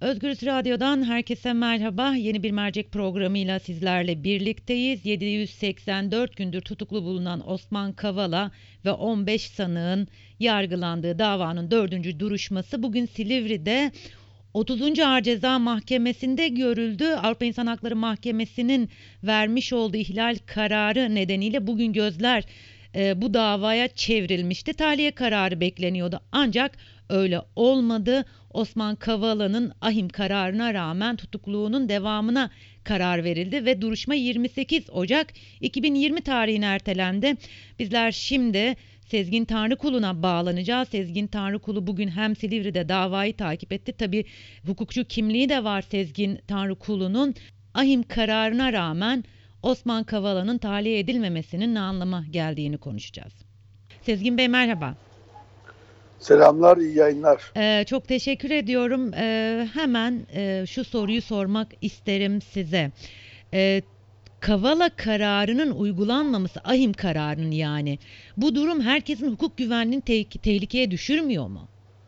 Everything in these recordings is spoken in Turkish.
Özgürüz Radyo'dan herkese merhaba. Yeni bir mercek programıyla sizlerle birlikteyiz. 784 gündür tutuklu bulunan Osman Kavala ve 15 sanığın yargılandığı davanın 4. duruşması bugün Silivri'de 30. Ağır Ceza Mahkemesi'nde görüldü. Avrupa İnsan Hakları Mahkemesi'nin vermiş olduğu ihlal kararı nedeniyle bugün gözler bu davaya çevrilmişti. Tahliye kararı bekleniyordu ancak öyle olmadı. Osman Kavala'nın ahim kararına rağmen tutukluğunun devamına karar verildi ve duruşma 28 Ocak 2020 tarihine ertelendi. Bizler şimdi Sezgin Tanrıkulu'na bağlanacağız. Sezgin Tanrıkulu bugün hem Silivri'de davayı takip etti. Tabii hukukçu kimliği de var Sezgin Tanrıkulu'nun. Ahim kararına rağmen Osman Kavala'nın tahliye edilmemesinin ne anlama geldiğini konuşacağız. Sezgin Bey merhaba. Selamlar, iyi yayınlar. Çok teşekkür ediyorum. Hemen şu soruyu sormak isterim size. Kavala kararının uygulanmaması, ahim kararının yani. Bu durum herkesin hukuk güvenliğini tehlikeye düşürmüyor mu?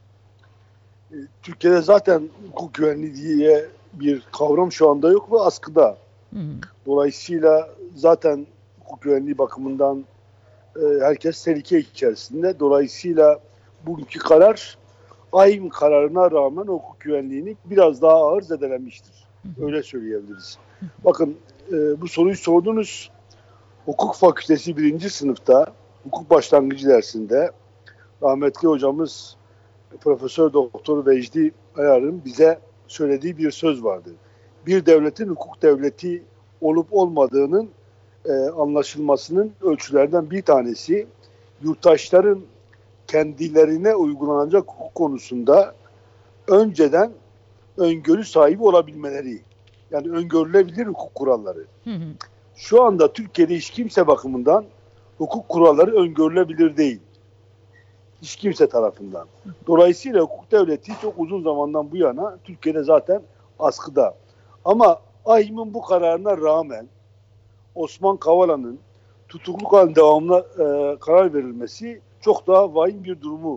Türkiye'de zaten hukuk güvenliği diye bir kavram şu anda yok ve askıda. Hı hı. Dolayısıyla zaten hukuk güvenliği bakımından herkes tehlike içerisinde. Dolayısıyla bugünkü karar ahim kararına rağmen hukuk güvenliğini biraz daha ağır zedelenmiştir. Öyle söyleyebiliriz. Bakın bu soruyu sordunuz. Hukuk Fakültesi 1. sınıfta hukuk başlangıcı dersinde rahmetli hocamız Profesör Doktor Vecdi Ayar'ın bize söylediği bir söz vardı. Bir devletin hukuk devleti olup olmadığının anlaşılmasının ölçülerden bir tanesi yurttaşların kendilerine uygulanacak hukuk konusunda önceden öngörü sahibi olabilmeleri. Yani öngörülebilir hukuk kuralları. Hı hı. Şu anda Türkiye'de hiç kimse bakımından hukuk kuralları öngörülebilir değil. Hiç kimse tarafından. Dolayısıyla hukuk devleti çok uzun zamandan bu yana Türkiye'de zaten askıda. Ama AİHM'in bu kararına rağmen Osman Kavala'nın tutukluk halinde devamına karar verilmesi çok daha vahim bir durumu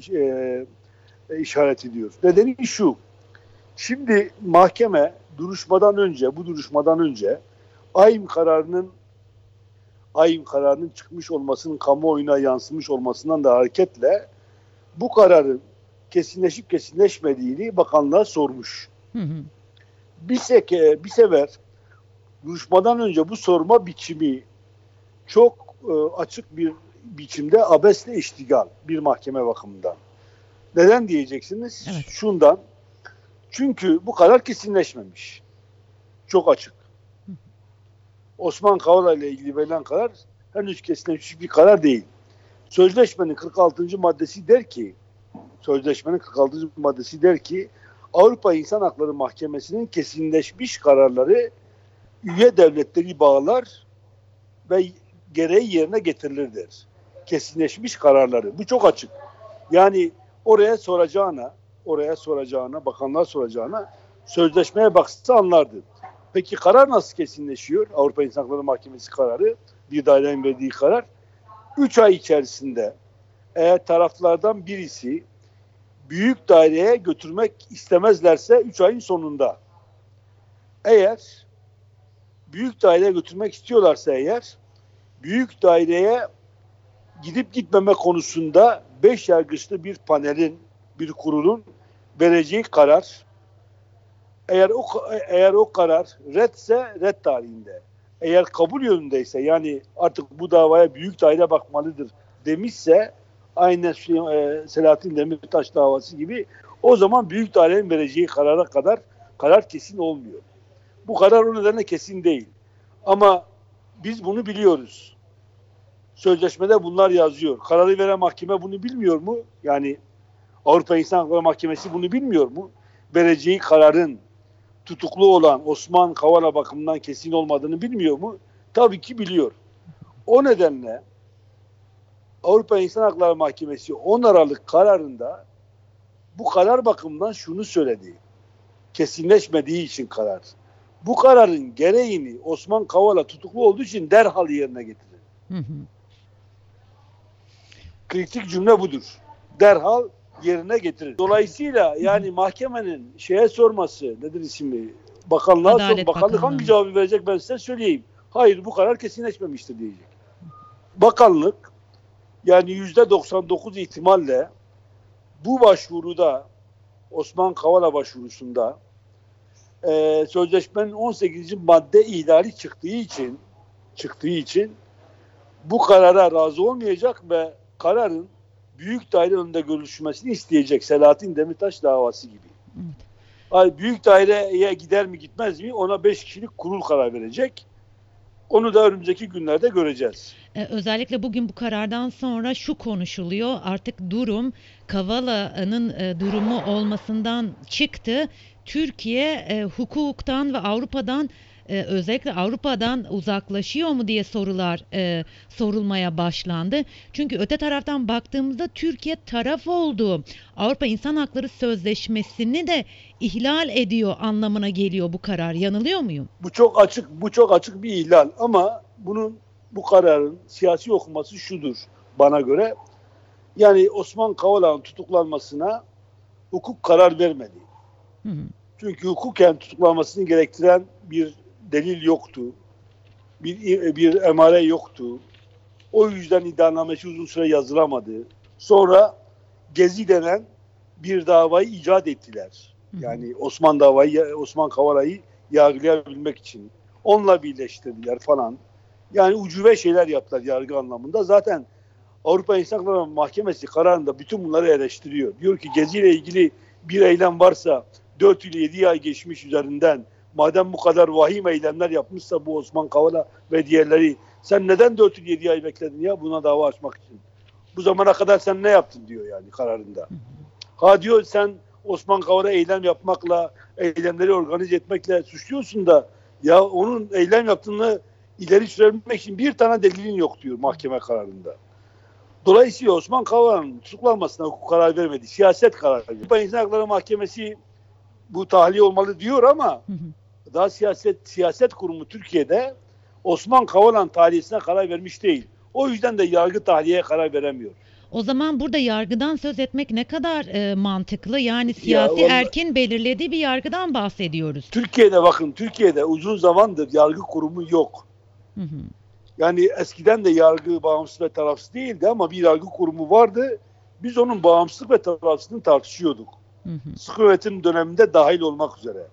işaret ediyor. Nedeni şu. Şimdi mahkeme bu duruşmadan önce AİHM kararının çıkmış olmasının kamuoyuna yansımış olmasından da hareketle bu kararın kesinleşip kesinleşmediğini bakanlığa sormuş. Hı hı. Bir sefer duruşmadan önce bu sorma biçimi çok açık bir biçimde abesle iştigal bir mahkeme bakımından. Neden diyeceksiniz? Evet. Şundan. Çünkü bu karar kesinleşmemiş. Çok açık. Osman Kavala ile ilgili verilen karar henüz kesinleşmiş bir karar değil. Sözleşmenin 46. maddesi der ki Avrupa İnsan Hakları Mahkemesi'nin kesinleşmiş kararları üye devletleri bağlar ve gereği yerine getirilir der. Kesinleşmiş kararları. Bu çok açık. Yani bakanlığa soracağına sözleşmeye baksa anlardı. Peki karar nasıl kesinleşiyor? Avrupa İnsan Hakları Mahkemesi kararı, bir dairenin verdiği karar. 3 ay içerisinde eğer taraflardan birisi büyük daireye götürmek istemezlerse 3 ayın sonunda. Eğer büyük daireye götürmek istiyorlarsa büyük daireye gidip gitmeme konusunda 5 yargıçlı bir kurulun vereceği karar, eğer o karar redse red tarihinde, eğer kabul yönündeyse yani artık bu davaya büyük daire bakmalıdır demişse aynen Selahattin Demirtaş davası gibi o zaman büyük dairenin vereceği karara kadar karar kesin olmuyor. Bu karar o nedenle kesin değil. Ama biz bunu biliyoruz. Sözleşmede bunlar yazıyor. Kararı veren mahkeme bunu bilmiyor mu? Yani Avrupa İnsan Hakları Mahkemesi bunu bilmiyor mu? Vereceği kararın tutuklu olan Osman Kavala bakımından kesin olmadığını bilmiyor mu? Tabii ki biliyor. O nedenle Avrupa İnsan Hakları Mahkemesi 10 Aralık kararında bu karar bakımından şunu söyledi. Kesinleşmediği için karar. Bu kararın gereğini Osman Kavala tutuklu olduğu için derhal yerine getirir. Hı hı. Kritik cümle budur. Derhal yerine getirir. Dolayısıyla yani mahkemenin şeye sorması, nedir ismi? Bakanlığa Adalet bakanlık Bakanlığı'na. hangi cevabı verecek ben size söyleyeyim. Hayır bu karar kesinleşmemiştir diyecek. Bakanlık yani %99 ihtimalle bu başvuruda Osman Kavala başvurusunda sözleşmenin 18. madde ihlali çıktığı için bu karara razı olmayacak ve kararın büyük daire önünde görüşmesini isteyecek. Selahattin Demirtaş davası gibi. Evet. Büyük daireye gider mi gitmez mi ona 5 kişilik kurul karar verecek. Onu da önümüzdeki günlerde göreceğiz. Özellikle bugün bu karardan sonra şu konuşuluyor. Artık durum Kavala'nın durumu olmasından çıktı. Türkiye hukuktan ve Avrupa'dan özellikle Avrupa'dan uzaklaşıyor mu diye sorular sorulmaya başlandı. Çünkü öte taraftan baktığımızda Türkiye taraf oldu. Avrupa İnsan Hakları Sözleşmesi'ni de ihlal ediyor anlamına geliyor bu karar. Yanılıyor muyum? Bu çok açık bir ihlal ama bu kararın siyasi okuması şudur bana göre. Yani Osman Kavala'nın tutuklanmasına hukuk karar vermedi. Hı hı. Çünkü hukuken tutuklanmasını gerektiren bir delil yoktu. Bir emare yoktu. O yüzden iddianamesi uzun süre yazılamadı. Sonra Gezi denen bir davayı icat ettiler. Yani Osman Kavala'yı yargılayabilmek için. Onunla birleştirdiler falan. Yani ucube şeyler yaptılar yargı anlamında. Zaten Avrupa İnsan Hakları Mahkemesi kararında bütün bunları eleştiriyor. Diyor ki Gezi ile ilgili bir eylem varsa 4 yıl 7 ay geçmiş üzerinden. Madem bu kadar vahim eylemler yapmışsa bu Osman Kavala ve diğerleri sen neden 4 yıl 7 ay bekledin ya buna dava açmak için? Bu zamana kadar sen ne yaptın diyor yani kararında. Ha diyor sen Osman Kavala eylem yapmakla, eylemleri organize etmekle suçluyorsun da ya onun eylem yaptığını ileri sürebilmek için bir tane delilin yok diyor mahkeme kararında. Dolayısıyla Osman Kavala'nın tutuklanmasına hukuk karar vermedi. Siyaset kararı verdi. Avrupa İnsan Hakları Mahkemesi bu tahliye olmalı diyor ama daha siyaset kurumu Türkiye'de Osman Kavala'nın tahliyesine karar vermiş değil. O yüzden de yargı tahliyeye karar veremiyor. O zaman burada yargıdan söz etmek ne kadar mantıklı? Yani siyasi erkin belirlediği bir yargıdan bahsediyoruz. Türkiye'de uzun zamandır yargı kurumu yok. Hı hı. Yani eskiden de yargı bağımsız ve tarafsız değildi ama bir yargı kurumu vardı. Biz onun bağımsızlık ve tarafsızlığını tartışıyorduk. Sıkı yönetim döneminde dahil olmak üzere.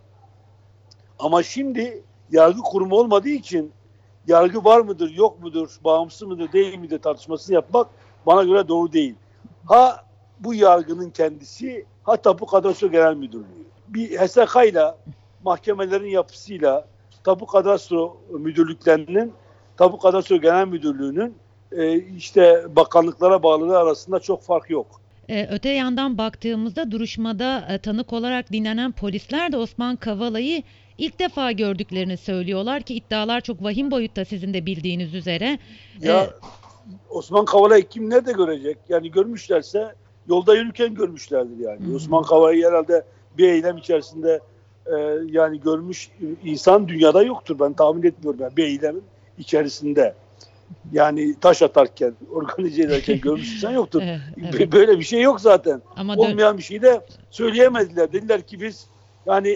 Ama şimdi yargı kurumu olmadığı için yargı var mıdır, yok mudur, bağımsız mıdır, değil midir tartışmasını yapmak bana göre doğru değil. Ha bu yargının kendisi, ha Tapu Kadastro Genel Müdürlüğü. Bir HSK'yla, mahkemelerin yapısıyla Tapu Kadastro Müdürlüklerinin, Tapu Kadastro Genel Müdürlüğü'nün işte bakanlıklara bağlılığı arasında çok fark yok. Öte yandan baktığımızda duruşmada tanık olarak dinlenen polisler de Osman Kavala'yı ilk defa gördüklerini söylüyorlar ki iddialar çok vahim boyutta sizin de bildiğiniz üzere. Ya Osman Kavala'yı kim nerede görecek? Yani görmüşlerse yolda yürürken görmüşlerdir yani. Osman Kavala'yı herhalde bir eylem içerisinde yani görmüş insan dünyada yoktur. Ben tahmin etmiyorum yani bir eylemin içerisinde. Yani taş atarken, organize ederken görmüş insan yoktur. Evet. Böyle bir şey yok zaten. Ama olmayan bir şey de söyleyemediler. Dediler ki biz yani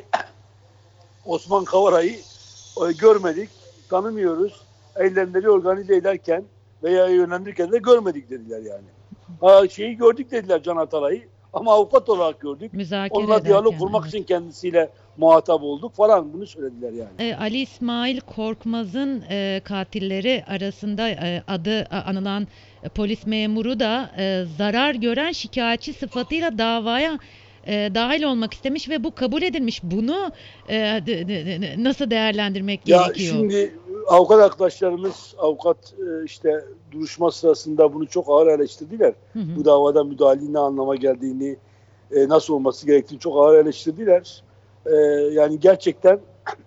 Osman Kavala'yı görmedik, tanımıyoruz. Eylemleri organize ederken veya yönlendirirken de görmedik dediler yani. Şeyi gördük dediler Can Atalay'ı ama avukat olarak gördük. Onunla diyalog kurmak için kendisiyle muhatap olduk falan bunu söylediler yani. Ali İsmail Korkmaz'ın katilleri arasında adı anılan polis memuru da zarar gören şikayetçi sıfatıyla davaya dahil olmak istemiş ve bu kabul edilmiş. Bunu nasıl değerlendirmek gerekiyor? Şimdi avukat arkadaşlarımız işte duruşma sırasında bunu çok ağır eleştirdiler. Bu davada müdahalenin ne anlama geldiğini, nasıl olması gerektiğini çok ağır eleştirdiler. Yani gerçekten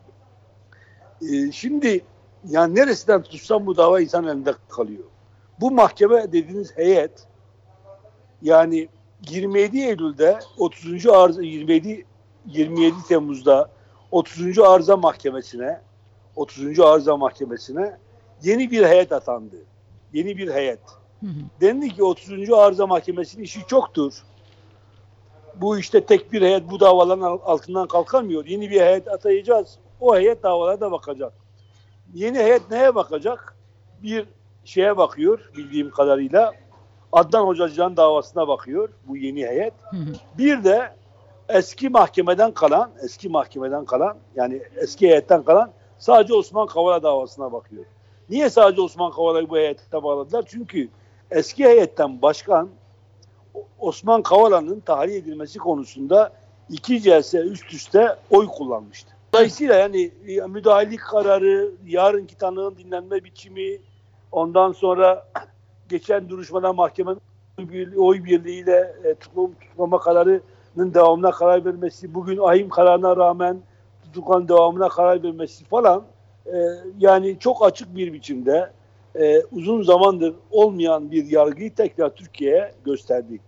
şimdi yani neresinden tutsam bu dava insan elinde kalıyor. Bu mahkeme dediğiniz heyet yani 27 Eylül'de 27 Temmuz'da 30. Arıza Mahkemesi'ne yeni bir heyet atandı. Yeni bir heyet. Dendi ki 30. Arıza Mahkemesi'nin işi çoktur. bu işte tek bir heyet bu davaların altından kalkamıyor. Yeni bir heyet atayacağız. O heyet davalara da bakacak. Yeni heyet neye bakacak? Bir şeye bakıyor bildiğim kadarıyla. Adnan Hocacı'nın davasına bakıyor bu yeni heyet. Bir de eski mahkemeden kalan yani eski heyetten kalan sadece Osman Kavala davasına bakıyor. Niye sadece Osman Kavala'yı bu heyette bağladılar? Çünkü eski heyetten başkan Osman Kavala'nın tahliye edilmesi konusunda 2 celse üst üste oy kullanmıştı. Dolayısıyla yani müdahalelik kararı, yarınki tanığın dinlenme biçimi, ondan sonra geçen duruşmada mahkemenin oy birliğiyle tutuklama kararının devamına karar vermesi, bugün ahim kararına rağmen tutuklanın devamına karar vermesi falan yani çok açık bir biçimde uzun zamandır olmayan bir yargıyı tekrar Türkiye'ye gösterdi.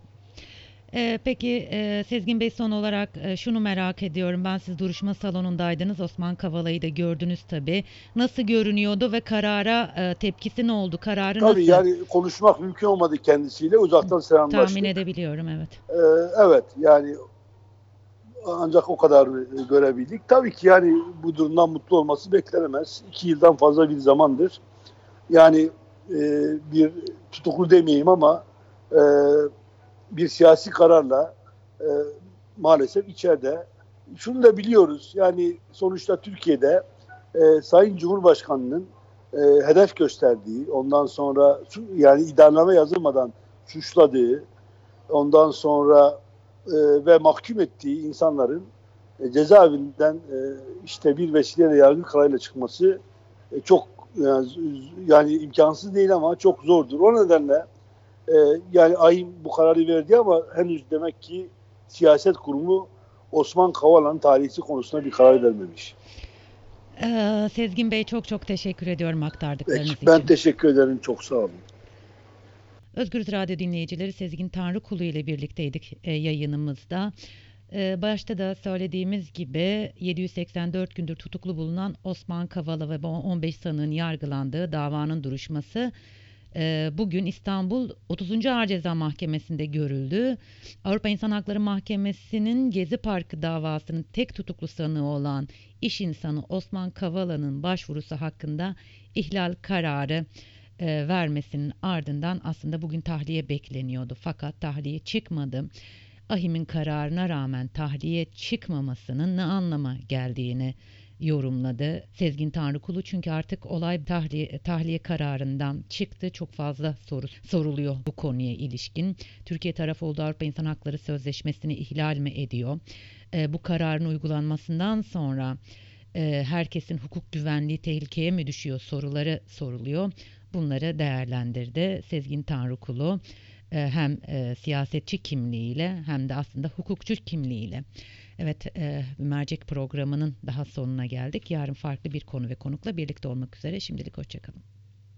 Peki Sezgin Bey, son olarak şunu merak ediyorum. Siz duruşma salonundaydınız. Osman Kavala'yı da gördünüz tabii. Nasıl görünüyordu ve karara tepkisi ne oldu? Kararı Tabii nasıl? yani konuşmak mümkün olmadı kendisiyle. Uzaktan selamlaştık. Tahmin edebiliyorum, evet. Evet yani ancak o kadar görebildik. Tabii ki yani bu durumdan mutlu olması beklenemez. 2 yıldan fazla bir zamandır. Yani bir tutuklu demeyeyim ama bir siyasi kararla maalesef içeride. Şunu da biliyoruz. Yani sonuçta Türkiye'de Sayın Cumhurbaşkanı'nın hedef gösterdiği, ondan sonra yani iddianame yazılmadan suçladığı, ondan sonra ve mahkum ettiği insanların cezaevinden işte bir vesileyle yargı kararıyla çıkması çok yani imkansız değil ama çok zordur. O nedenle yani ahim bu kararı verdi ama henüz demek ki siyaset kurumu Osman Kavala'nın talihi konusunda bir karar vermemiş. Sezgin Bey, çok teşekkür ediyorum aktardıklarınız için. Ben teşekkür ederim. Çok sağ olun. Özgürüz Radyo dinleyicileri, Sezgin Tanrıkulu ile birlikteydik yayınımızda. Başta da söylediğimiz gibi 784 gündür tutuklu bulunan Osman Kavala ve 15 sanığın yargılandığı davanın duruşması bugün İstanbul 30. Ağır Ceza Mahkemesi'nde görüldü. Avrupa İnsan Hakları Mahkemesi'nin Gezi Parkı davasının tek tutuklu sanığı olan iş insanı Osman Kavala'nın başvurusu hakkında ihlal kararı vermesinin ardından aslında bugün tahliye bekleniyordu. Fakat tahliye çıkmadı. Ahim'in kararına rağmen tahliye çıkmamasının ne anlama geldiğini yorumladı Sezgin Tanrıkulu. Çünkü artık olay tahliye kararından çıktı. Çok fazla soru soruluyor bu konuya ilişkin. Türkiye tarafı olduğu Avrupa İnsan Hakları Sözleşmesi'ni ihlal mi ediyor? Bu kararın uygulanmasından sonra herkesin hukuk güvenliği tehlikeye mi düşüyor soruları soruluyor. Bunları değerlendirdi Sezgin Tanrıkulu. Hem siyasetçi kimliğiyle hem de aslında hukukçu kimliğiyle. Evet, mercek programının daha sonuna geldik. Yarın farklı bir konu ve konukla birlikte olmak üzere. Şimdilik hoşça kalın.